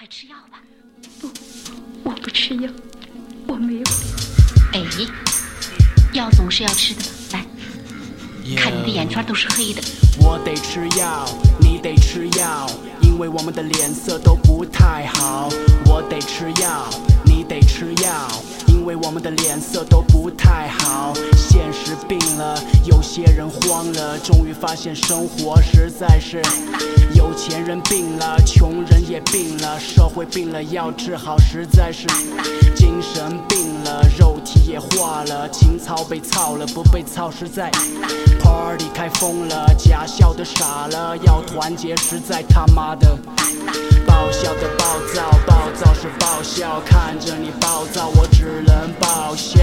快吃药吧。 不，我不吃药，我没有。 哎，药总是要吃的吧？来，看你的眼圈都是黑的。 我得吃药，你得吃药，因为我们的脸色都不太好。我得吃药，你得吃药，因为我们的脸色都不太好。现实病了，有些人慌了，终于发现生活实在是。有钱人病了，穷人也病了，社会病了，要治好实在是。精神病了，肉体也化了，情操被操了，不被操实在。Party 开疯了，假笑的傻了，要团结实在他妈的。爆笑的暴躁，暴躁是爆笑，看着你暴躁，我只能爆笑。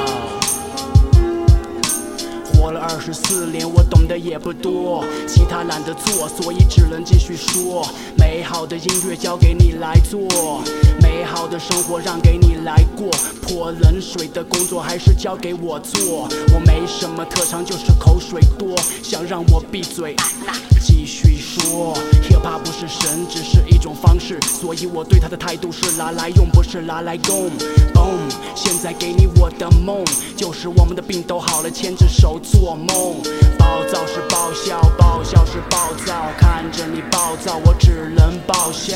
活了24年，我懂得也不多，其他懒得做，所以只能继续说。美好的音乐交给你来做，美好的生活让给你来过，泼冷水的工作还是交给我做。我没什么特长，就是口水多，想让我闭嘴继续说。 hiphop 不是神，只是一种方式，所以我对它的态度是拿来用，不是拿来供。Boom， 现在给你我的梦，就是我们的病都好了，牵着手做梦。暴躁是爆笑，爆笑是暴躁，看着你暴躁，我只能爆笑。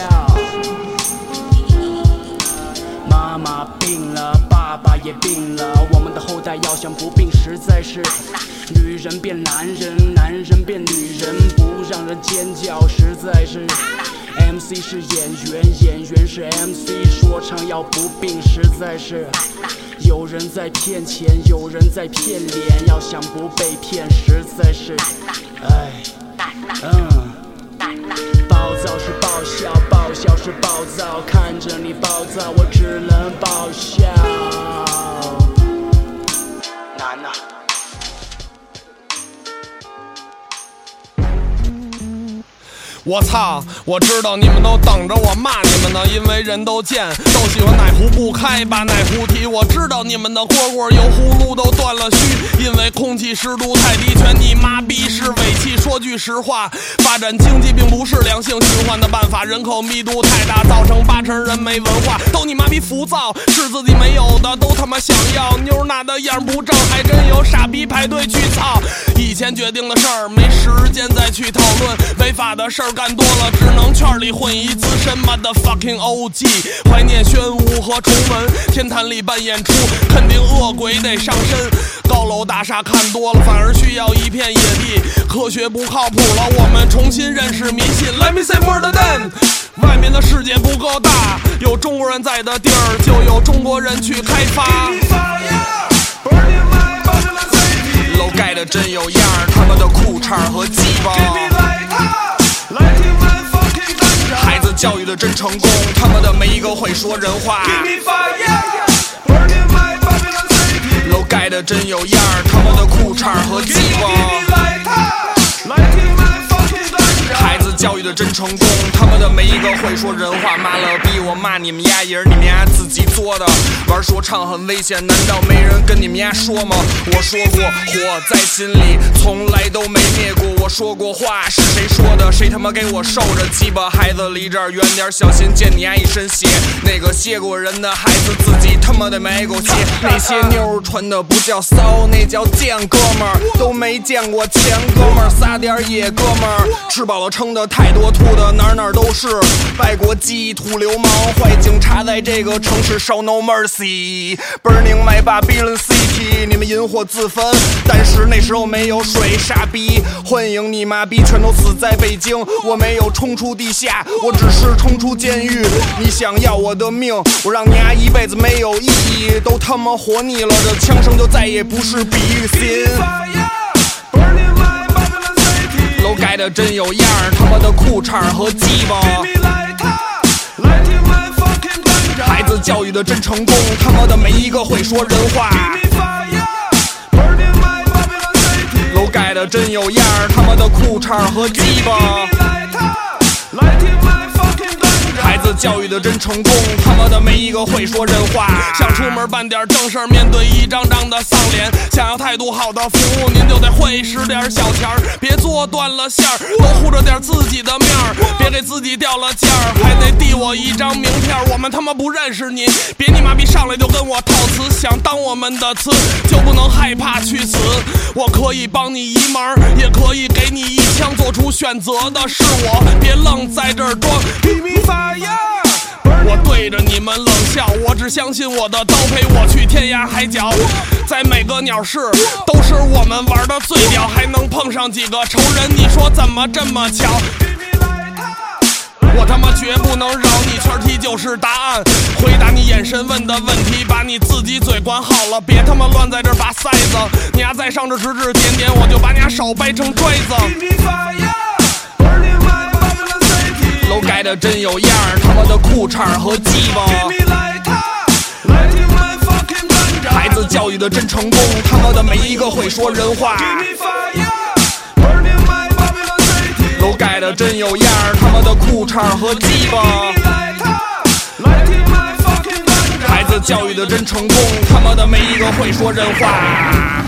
妈妈病了，爸爸也病了，我们的后代要想不病，实在是。女人变男人，男人变女人，不让人尖叫，实在是。MC 是演员，演员是 MC， 说唱要不病，实在是。有人在骗钱，有人在骗脸，要想不被骗，实在是。哎，暴躁是爆笑，爆笑是暴躁，看着你暴躁，我只能爆笑。难啊！ 我操！我知道你们都等着我骂你们呢，因为人都贱，都喜欢奶壶不开把奶壶提。我知道你们的蝈蝈有葫芦都断了须，因为空气湿度太低，全你妈逼是尾气。说句实话，发展经济并不是良性循环的办法，人口密度太大，造成80%人没文化，都你妈逼浮躁，是自己没有的都他妈想要，妞拿的样不正，还真有傻逼排队去操。以前决定的事儿没时间再去讨论，违法的事儿干多了，只能圈里混一资深 motherfucking OG。怀念宣武和崇文，天坛里办演出，肯定恶鬼得上身。高楼大厦看多了，反而需要一片野地。科学不靠谱了，我们重新认识迷信。Let me say more than that。外面的世界不够大，有中国人在的地儿，就有中国人去开发。楼盖的真有样儿，他们的裤衩和鸡巴。孩子教育的真成功，他们的每一个会说人话。楼盖的真有样儿，他们的裤衩和鸡巴。孩子教育的真成功，他们的每一个会说人话。妈了逼，我骂你们丫也是你们丫自己做的。玩说唱很危险，难道没人跟你们丫说吗？我说过，火在心里，从来都没灭过。我说过话，是谁说的？谁他妈给我受着？鸡巴孩子离这儿远点，小心溅你丫一身血。那个谢过人的孩子，自己他妈的没过鞋。那些妞穿的不叫骚，那叫贱哥们儿，都没见过钱哥们儿，撒点野哥们儿，吃饱了撑的太多，吐的哪哪都是。外国鸡土流氓，坏警察在这个城市 show no mercy。Burning my Babylon City， 你们引火自焚，但是那时候没有水，傻逼！欢迎你妈逼，全都死在北京。我没有冲出地下，我只是冲出监狱。你想要我的命，我让你丫一辈子没有意义，都他妈活腻了，这枪声就再也不是比喻。楼盖的真有样儿，他妈的裤衩和鸡巴。孩子教育的真成功，他妈的每一个会说人话。楼盖的真有样儿，他妈的裤衩和鸡巴。孩子教育的真成功，他妈的没一个会说人话。想出门办点正事儿，面对一张张的丧脸，想要态度好的服务，您就得会使点小钱儿，别做断了线儿，多护着点自己的面儿，别给自己掉了价儿，还得递我一张名片。我们他妈不认识您，别你妈逼上来就跟我套词，想当我们的词就不能害怕去死。我可以帮你一忙，也可以给你一枪，做出选择的是我，别愣在这儿装。我对着你们冷笑，我只相信我的刀陪我去天涯海角，在每个鸟市都是我们玩的最屌，还能碰上几个仇人，你说怎么这么巧？我他妈绝不能饶你，圈题就是答案，回答你眼神问的问题，把你自己嘴管好了，别他妈乱在这拔塞子，你丫再上这指指点点，我就把你丫手掰成拽子。楼盖的真有样儿，他妈的裤衩和鸡巴，孩子教育的真成功，他妈的没一个会说人话。楼盖的真有样儿，他妈的裤衩和鸡巴，孩子教育的真成功，他妈的没一个会说人话。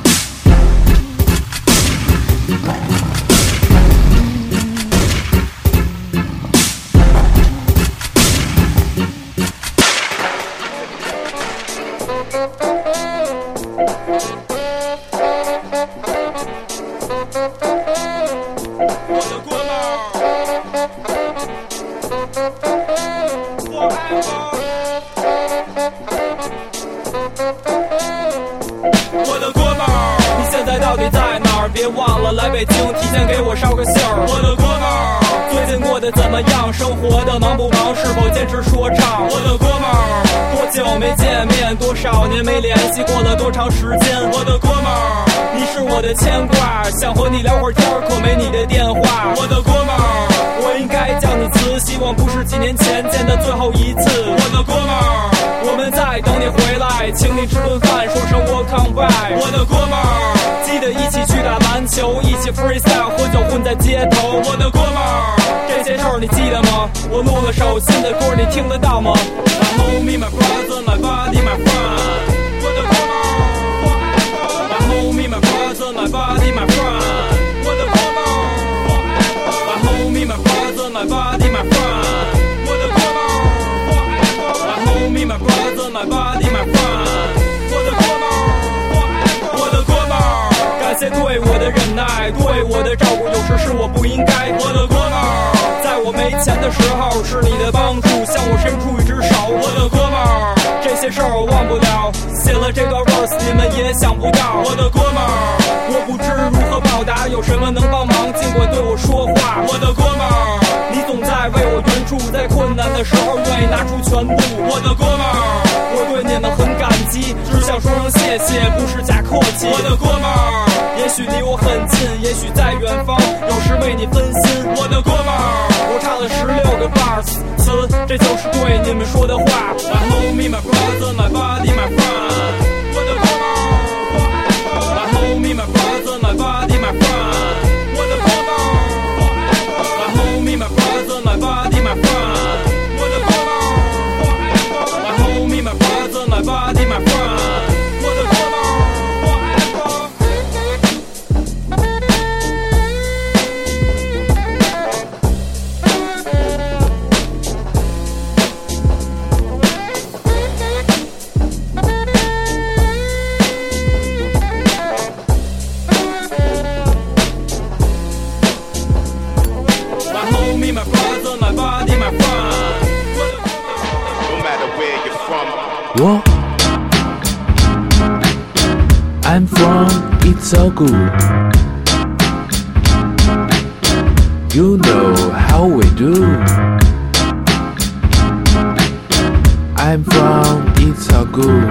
我的哥们儿，你现在到底在哪儿？别忘了来北京，提前给我捎个信儿。我的哥们儿，最近过得怎么样？生活的忙不忙？是否坚持说唱？我的哥们儿，多久没见面？多少年没联系？过了多长时间？我的哥们儿，你是我的牵挂，想和你聊会儿天儿，可没你的电话。我的哥们儿，我应该叫你词，希望不是几年前见的最后一次。我的哥们儿，我们在等你回来，请你吃顿饭，说声我come back。我的哥们儿，记得一起去打篮球，一起 freestyle， 喝酒混在街头。我的哥们儿，这些事儿你记得吗？我录了首新的歌，你听得到吗？ My homie, my brother, my body, my friend。我的哥们儿，我爱我。My homie, my brother, my body, my friend。我的哥们儿，我爱我。My homie, my brother, my body, my friend。我的哥们儿，我爱我。My homie, my brother, my body, my friend。我的哥们儿，我爱我。我的哥们儿，感谢对我的忍耐，对我的照顾，有时是我不应该。我的哥们儿，在我没钱的时候，是你的帮助，向我伸出一只手。我的哥们儿，这些事儿我忘不了，写了这段 verse 你们也想不到。我的哥们儿，我不知如何报答，有什么能帮忙尽管对我说话。我的哥们儿，你总在为我援助，在困难的时候愿意拿出全部。我的哥们儿，我对你们很感激，只想说声谢谢，不是假客气。我的哥们儿，也许离我很近，也许在远方，有时为你分心。我的哥们儿，我唱了16个 bars 词，这就是对你们说的话。My homie, my brother, my body, my friend。我的哥们儿，我爱我。My homie, my brother, my body, my friend。我的哥们儿，我爱我。My homie, my brother, my body, my friend。我的哥们儿，我爱我。My homie, my brother, my body, my friend。我的哥们儿，我爱我。My homie, my brother, my body, my friend。 No matter where you're from. What? I'm from It's So Good. You know how we do. I'm from It's So Good.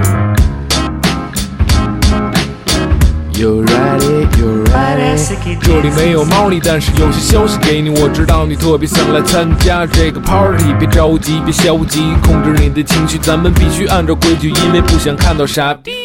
You ready? You ready? 这里没有猫腻，但是有些消息给你。我知道你特别想来参加这个 party， 别着急，别消极，控制你的情绪，咱们必须按照规矩，因为不想看到傻逼。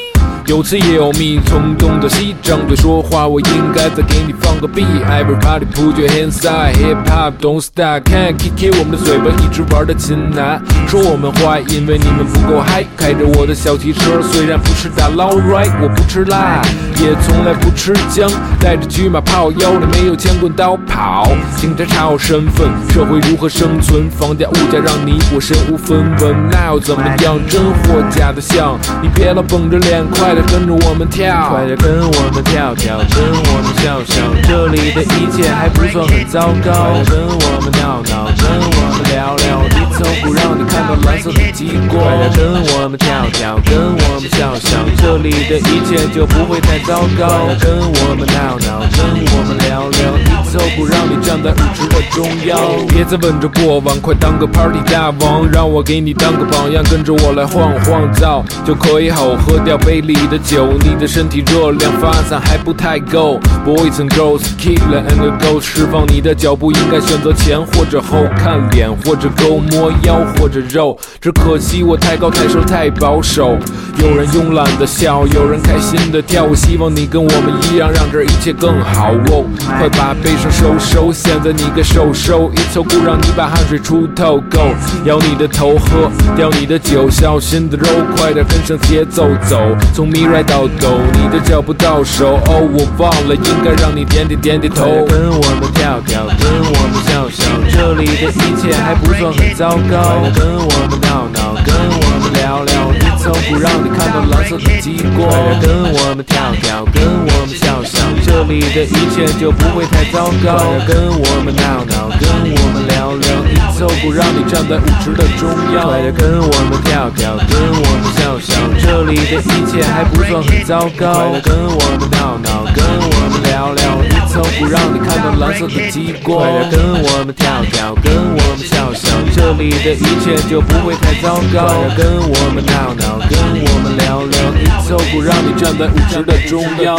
有词也有密，冲动的西张嘴说话，我应该再给你放个屁。Everybody put your hands up, hip hop don't stop. Can't kick 我们的嘴巴一直玩的勤拿，说我们坏，因为你们不够嗨。开着我的小汽车，虽然不是大捞 right， 我不吃辣，也从来不吃姜，带着车马炮，腰里没有枪棍刀跑。警察查我身份，社会如何生存？房价物价让你我身无分文，那又怎么样？真货假的像，你别老绷着脸，快点跟着我们跳，快点跟我们跳跳，跟我们笑笑，这里的一切还不算很糟糕。快点跟我们闹闹，跟我们聊聊，低头不让你看到蓝色的极光。快点跟我们跳跳，跟我们笑笑，这里的一切就不会太糟糕。快点跟我们闹闹，跟我们聊聊，低头不让你站在舞池的中央。别再问着过往，快当个 party 大王，让我给你当个榜样，跟着我来晃晃燥，就可以好喝掉杯里的酒。你的身体热量发散还不太够 ，Boys and girls, tequila and a ghost， 释放你的脚步，应该选择前或者后，看脸或者勾，摸腰或者肉。只可惜我太高太瘦太保守，有人慵懒的笑，有人开心的跳。我希望你跟我们一样，让这一切更好哦。快把悲伤收收，现在你该收收，一凑不让你把汗水出透够。摇你的头，喝掉你的酒，小心的肉，快点跟上节奏走，从咪来到哆，你的脚步到手。哦，我忘了，应该让你点点头。跟我们跳跳，跟我们笑笑，这里的一切还不算很糟糕。跟我们闹闹，跟我们聊聊，低头不让你看到蓝色的极光。跟我们跳跳，跟我们笑笑，这里的一切就不会太糟糕。跟我们闹闹，跟我们聊聊，低头不让你站在舞池的中央。快点跟我们跳跳，跟我们笑笑，这里的一切还不算很糟糕。跟我们闹闹，跟我们聊聊，低头不让你看到蓝色的极光。快点跟我们跳跳，跟我们笑笑，这里的一切就不会太糟糕。快点跟我们闹闹，跟我们聊聊，低头不让你站在舞池的中央。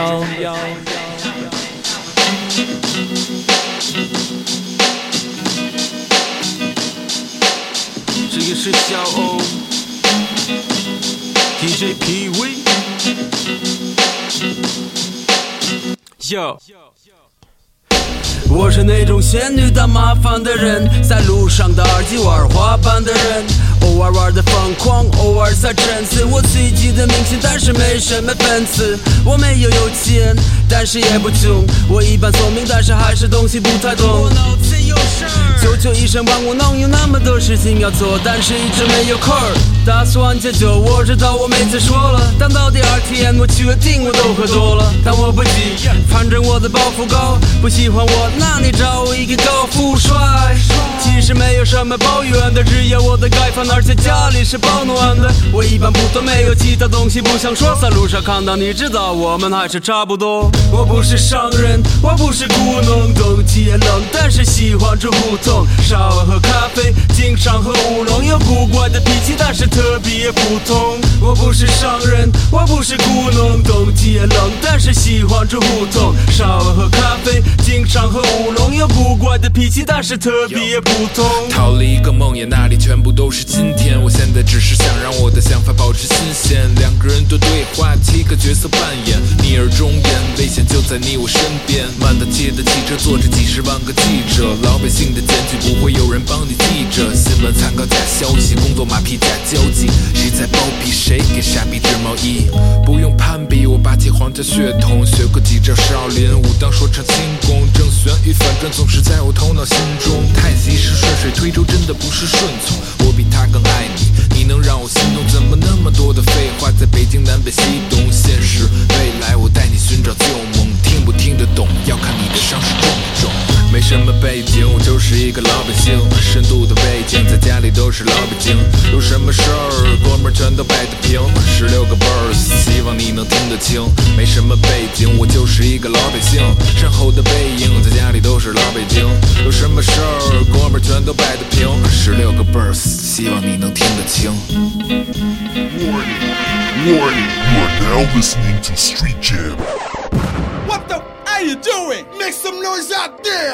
这个是小欧 DJ PV Yo， 我是那种仙女当麻烦的人，在路上的耳机玩滑板的人，偶尔玩的疯狂，偶尔在沉思。我自己的明星，但是没什么粉丝。我没有钱，但是也不穷。我一般聪明，但是还是东西不太懂。我脑子有事儿，求求医生帮我弄，有那么多事情要做，但是一直没有空儿。打算戒酒，我知道我每次说了，但到第二天我确定我都喝多了。但我不急，反正我的包袱高，不喜欢我，那你找一个高富帅。其实没有什么抱怨的，只有我的盖饭，而且家里是保暖的。我一般不多，没有其他东西不想说，在路上看到你知道我们还是差不多。我不是商人，我不是故弄冬季也冷，但是喜欢住胡同，稍晚喝咖啡，经常喝乌龙，有古怪的脾气，但是特别普通。我不是商人，我不是故弄冬季也冷，但是喜欢住胡同，稍晚喝咖啡，经常喝乌龙，有古怪的脾气，但是特别普通。 逃离一个梦魇，那里全部都是今天。我现在只是想让我的想法保持新鲜。两个人的对话，7个角色扮演，逆耳忠言，危险就在你我身边。满大街的汽车坐着几十万个记者，老百姓的检举不会有人帮你记着。新闻参考假消息，工作马屁假交际，谁在包庇谁给傻逼织毛衣？不用攀比，我霸气皇家血统，学过几招少林武当说唱轻功，正旋与反转总是在我头脑心中。太极是顺水推舟，真的不是顺从。我比他更爱你，你能让我心动？怎么那么多的废话？在北京南北西东，现实未来，我带你寻找旧梦。听不听得懂，要看你的伤势重不重。没什么背景，我就是一个老百姓。深度的背景，在家里都是老北京。有什么事儿，哥们儿全都摆得平。16个 verse， 希望你能听得清。没什么背景，我就是一个老百姓。身后的背影，在家里都是老北京。有什么事儿，哥们儿全都摆得平。16个 verse， 希望你能听得清。 Warning, you are now listening to Street Jam. What the are you doing? Make some noise out there!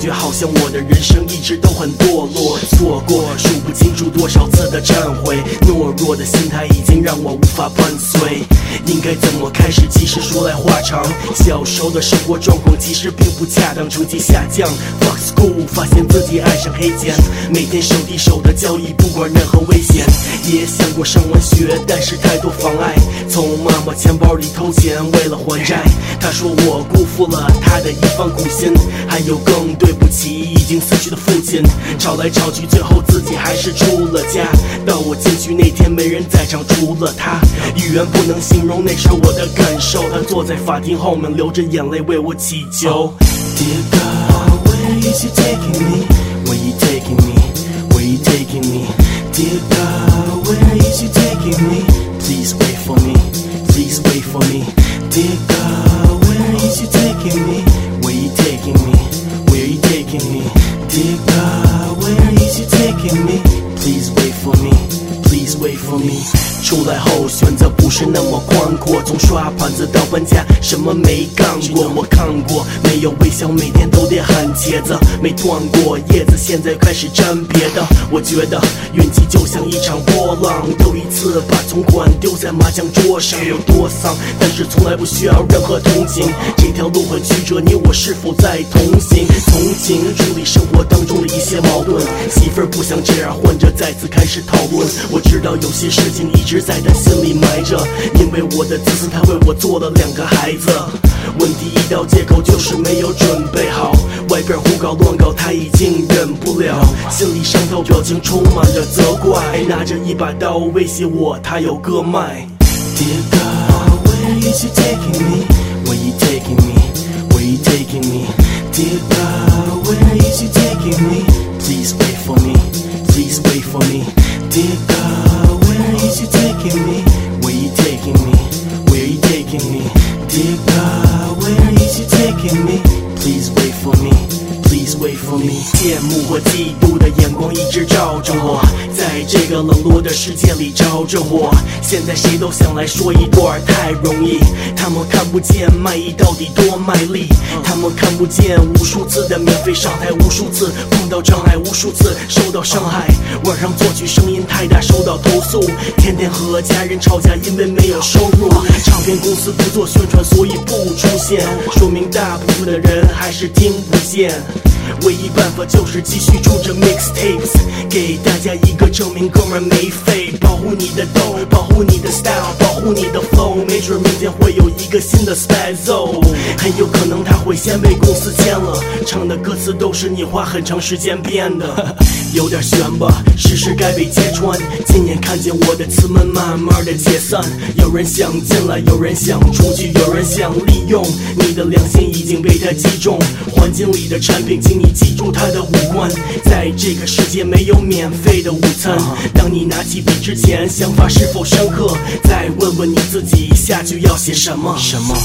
觉好像我的人生一直都很堕落，错过数不清楚多少次的忏悔，懦弱的心态已经让我无法伴随。应该怎么开始？其实说来话长。小时候的生活状况其实并不恰当，成绩下降 ，fuck school， 发现自己爱上黑键，每天手递手的交易，不管任何危险。也想过上完学，但是太多妨碍，从妈妈钱包里偷钱，为了还债。她说我辜负了她的一番苦心，还有更对不起已经死去的父亲。吵来吵去，最后自己还是出了家。到我进去那天，没人在场，除了他。语言不能形容那时我的感受。他坐在法庭后面，流着眼泪为我祈求。Dear God, where is you taking me? Where you taking me? Where you taking me? Dear God, where is you taking me? Please wait for me. Please wait for me. Dear God, where is you taking me? Where you taking me? Where you taking me? Dear God, where is you taking me? Please wait for me. Please wait for me. 出来后选择不是那么宽阔，从刷盘子到搬家，什么没干过。我看过，没有微笑，每天都得喊茄子，没断过叶子，现在开始沾别的。我觉得运气就像一场波浪，又一次把存款丢在麻将桌上，有多丧，但是从来不需要任何同情。这条路很曲折，你我是否在同行？从情处理生活当中的一些矛盾，媳妇儿不想这样，患者再次开始讨论。我知道有些事情一直在他心里埋着，因为我的自私，他为我做了2个孩子。问题一到借口就是没有准备好，外边胡搞乱搞他已经忍不了，心里伤透，表情充满着责怪，拿着一把刀威胁我，他有割脉。Dear God, where is you taking me? Where you taking me? Where you taking me? Dear God, where is you taking me? Please wait for me. Please wait for me. Dear God, where is you taking me? Where you taking me? Where you taking me? Dear God, where is you taking me? Please wait for me. Please wait for me. 羡慕和嫉妒的眼光一直照着我，在这个冷落的世界里着着火。现在谁都想来说一段太容易，他们看不见卖艺到底多卖力，他们看不见无数次的免费上台，无数次碰到障碍，无数次受到伤害。晚上作曲声音太大收到投诉，天天和家人吵架因为没有收入，唱片公司不做宣传所以不出现，说明大部分的人还是听不见。唯一办法就是继续出着 mixtapes， 给大家一个证明，哥们没废。保护你的dough，保护你的 style， 保护你的 flow， 没准明天会有一个新的 spazzo， 很有可能他会先被公司签了，唱的歌词都是你花很长时间编的。有点悬吧，事实该被揭穿。今年看见我的词们慢慢的解散，有人想进来，有人想出去，有人想利用你的良心已经被他击中。环境里的产品，请你记住它的五官，在这个世界没有免费的午餐。当你拿起笔之前，想法是否深刻？再问问你自己，下句要写什么？什么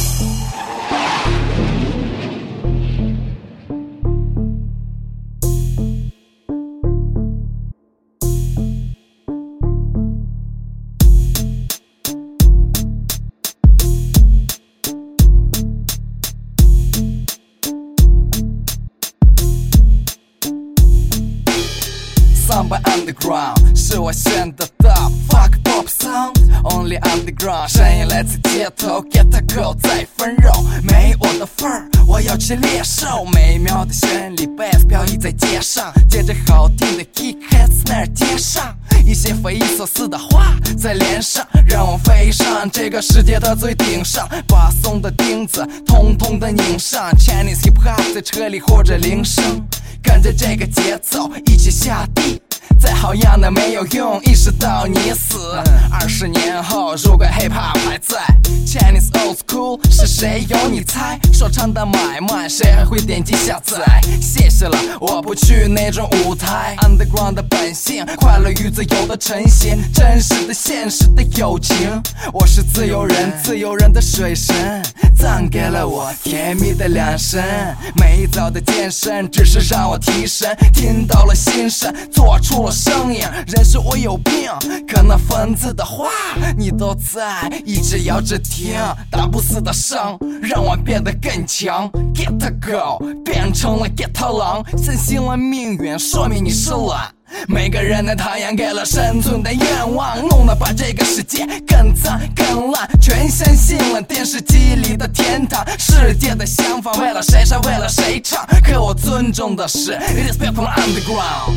？Underground 是我选的 Fuck pop sound Only underground 声音来自街头 Get a girl 再分肉没我的份儿我要吃猎兽美妙的旋律 Bass 飘逸在街上接着好听的 kick hits 那儿接上一些匪夷所思的话在脸上让我飞上这个世界的最顶上把松的钉子通通的拧上 Chinese hip hop 在车里或者铃声跟着这个节奏一起下地再好样的没有用意识到你死20年后如果 hip hop 还在 Chinese old school 是谁有你猜说唱的买卖谁还会点击下载谢谢了我不去那种舞台 Underground 的本性快乐与自由的呈现真实的现实的友情我是自由人自由人的水神赞给了我甜蜜的两声。每一早的健身只是让我提神，听到了心声，做出了声音。人说我有病，可那分子的话你都在，一直摇着听，打不死的伤让我变得更强。 Get a go 变成了 Get a 狼，相信了命运，说明你是懒。每个人的太阳给了生存的愿望，弄得把这个世界更脏更烂，全相信了电视机里的天堂。世界的想法为了谁杀为了谁唱，可我尊重的是 Respect from underground。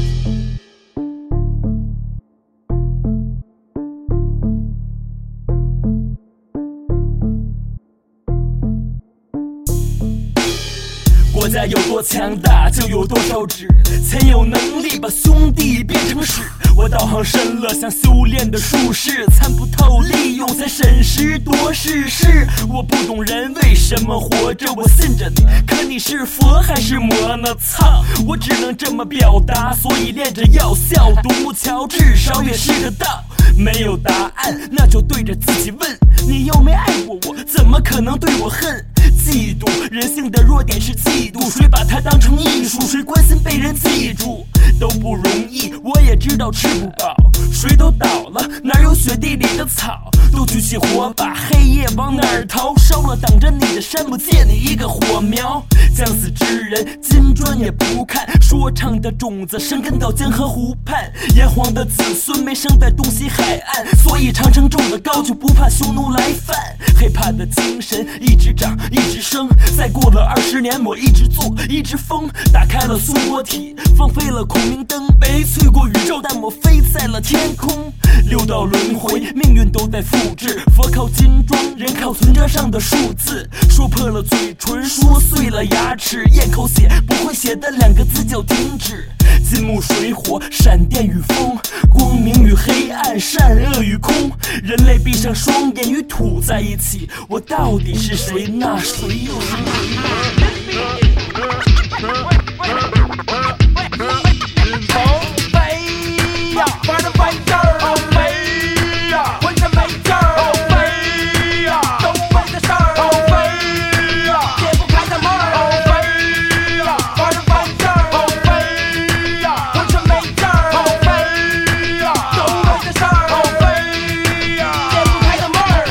国家有多强大，就有多少纸，才有能力把兄弟变成屎。我道行深了，像修炼的术士，参不透利用才审时度势。是我不懂人为什么活着，我信着你，可你是佛还是魔呢？操，我只能这么表达，所以练着要笑。独木桥至少也是个道。没有答案，那就对着自己问，你又没爱过我，怎么可能对我恨？嫉妒，人性的弱点是嫉妒，谁把它当成艺术，谁关心被人记住，都不容易。我也知道吃不饱，水都倒了，哪有雪地里的草？都举起火把，黑夜往哪儿逃？烧了挡着你的山，不借你一个火苗。将死之人，金砖也不看，说唱的种子生根到江河湖畔。炎黄的子孙没生在东西海岸，所以长城种得高，就不怕匈奴来犯。hiphop的精神一直长一直升，再过了20年，我一直做一直疯，打开了松果体，放飞了孔明灯，悲催过宇宙，但我飞在了天空。六道轮回，命运都在复制，佛靠金装，人靠存折上的数字。说破了嘴唇，说碎了牙齿，咽口血不会写的2个字叫停止。金木水火，闪电与风，光明与黑暗，善恶与空。人类闭上双眼，与土在一起，我到底是谁？那谁又是谁？飞呀，玩得飞劲儿，哦飞呀，浑身没劲儿，哦飞呀，都为的事儿，哦飞呀，解不开的闷儿，哦飞呀，玩得飞劲儿，哦飞呀，浑身没劲儿，哦飞呀，都为的事儿，哦飞呀，解不开的闷儿。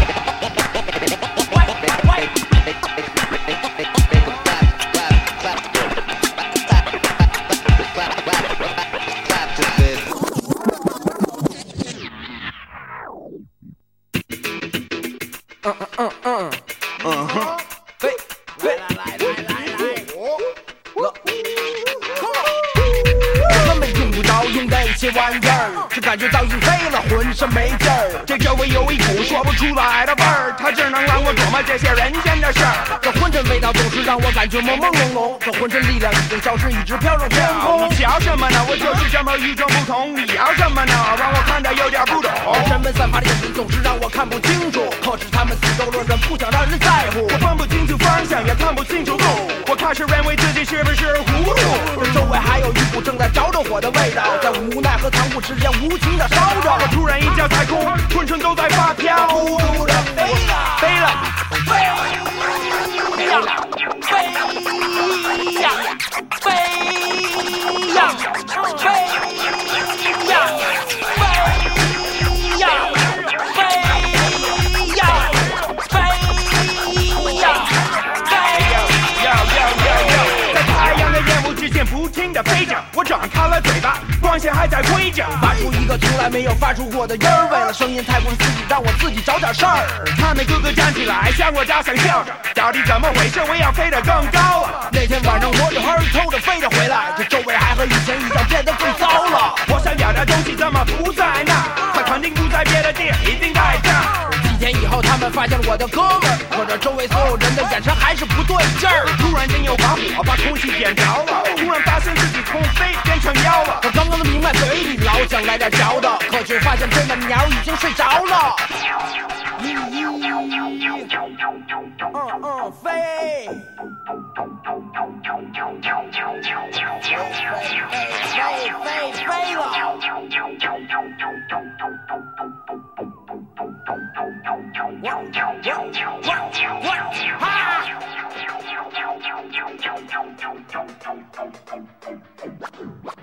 根本用不着用那些玩意儿，这感觉早已飞了，浑身没劲儿。这周围有一股说不出来的味儿，它只能让我琢磨这些人间的事儿。这浑身味道总是让我感觉朦朦胧胧，这浑身力量已经消失，一直飘上天空。你要什么呢？我就是这么与众不同。你要什么呢？让我看得有点不懂。人们散发的眼神总是让我看不清楚，可是他们死斗论人，不想让人在乎。我分不清楚方向，也看不清楚路，我开始认为自己是不是糊涂。这周围还有一股正在着着火的味道，在无奈和残酷之间无情的烧着。我突然一脚踩空，浑身都在发飘，孤独的飞了，飞了，飞呀，飞呀，飞呀，飞呀，飞呀，飞呀，飞呀，飞呀，在太阳的烟雾之间不停地飞着，我张开了嘴巴，光线还在挥着，发出一个从来没有发出过的音儿。为了声音太过刺激，让我自己找点事儿。他们个个站起来，向我大声笑着，到底怎么回事？我要飞得更高了。那天晚上我就hơi偷着飞着回来，这周围还和以前一样变得更糟了。我想要的东西怎么不在那儿？它肯定不在别的地儿，一定在这儿。几天以后，他们发现我的哥们儿，可这周围所有人的眼神还是不对劲儿。突然间有把火把空气点着了，突然发现自己从飞变成妖了。我刚刚明白嘴里老想来点嚼的，可却发现这个鸟已经睡着了。飞。飞了。 哈